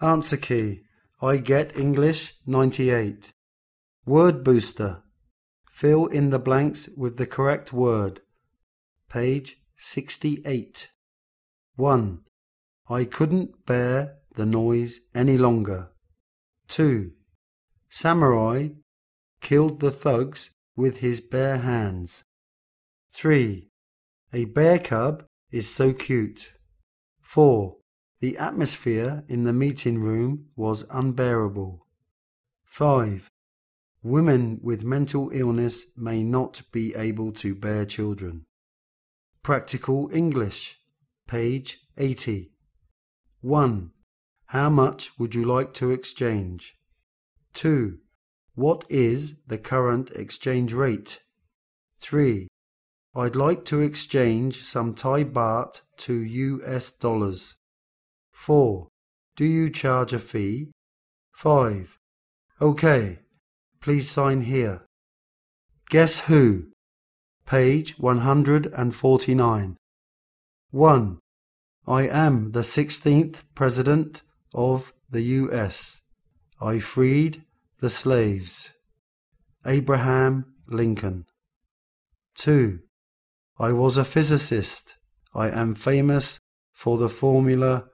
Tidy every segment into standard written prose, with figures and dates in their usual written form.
Answer key. I get English 98. Word booster. Fill in the blanks with the correct word. Page 68. 1. I couldn't bear the noise any longer. 2. Samurai killed the thugs with his bare hands. 3. A bear cub is so cute. 4. The atmosphere in the meeting room was unbearable. 5. Women with mental illness may not be able to bear children. Practical English, page 80. 1. How much would you like to exchange? 2. What is the current exchange rate? 3. I'd like to exchange some Thai baht to US dollars. 4. Do you charge a fee? 5. OK. Please sign here. Guess who? Page 149. 1. I am the 16th President of the US. I freed the slaves. Abraham Lincoln. 2. I was a physicist. I am famous for the formula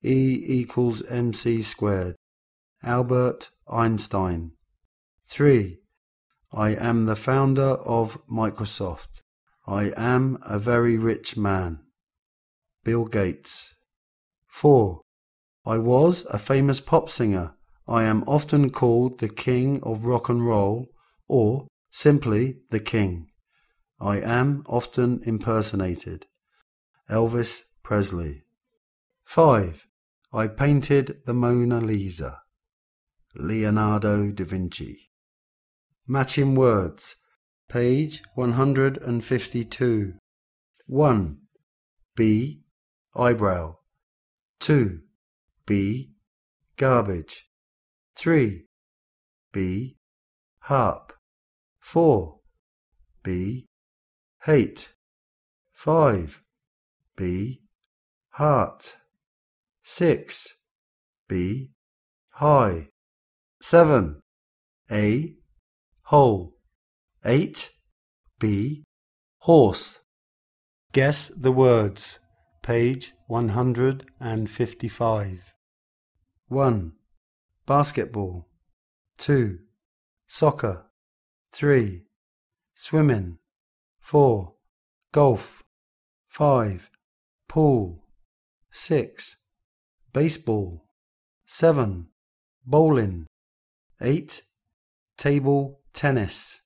E=mc². Albert Einstein. 3. I am the founder of Microsoft. I am a very rich man. Bill Gates. 4. I was a famous pop singer. I am often called the King of Rock and Roll or simply the King. I am often impersonated. Elvis Presley. 5. I painted the Mona Lisa. Leonardo da Vinci. Matching words. Page 152. 1. B. Eyebrow. 2. B. Garbage. 3. B. Harp. 4. B. Hate. 5. B. Heart. 6. B. High. 7. A. Hole. 8. B. Horse. Guess the words. Page 155. 1. Basketball. 2. Soccer. 3. Swimming. 4. Golf. 5. Pool. 6. Baseball. 7. Bowling. 8. Table tennis.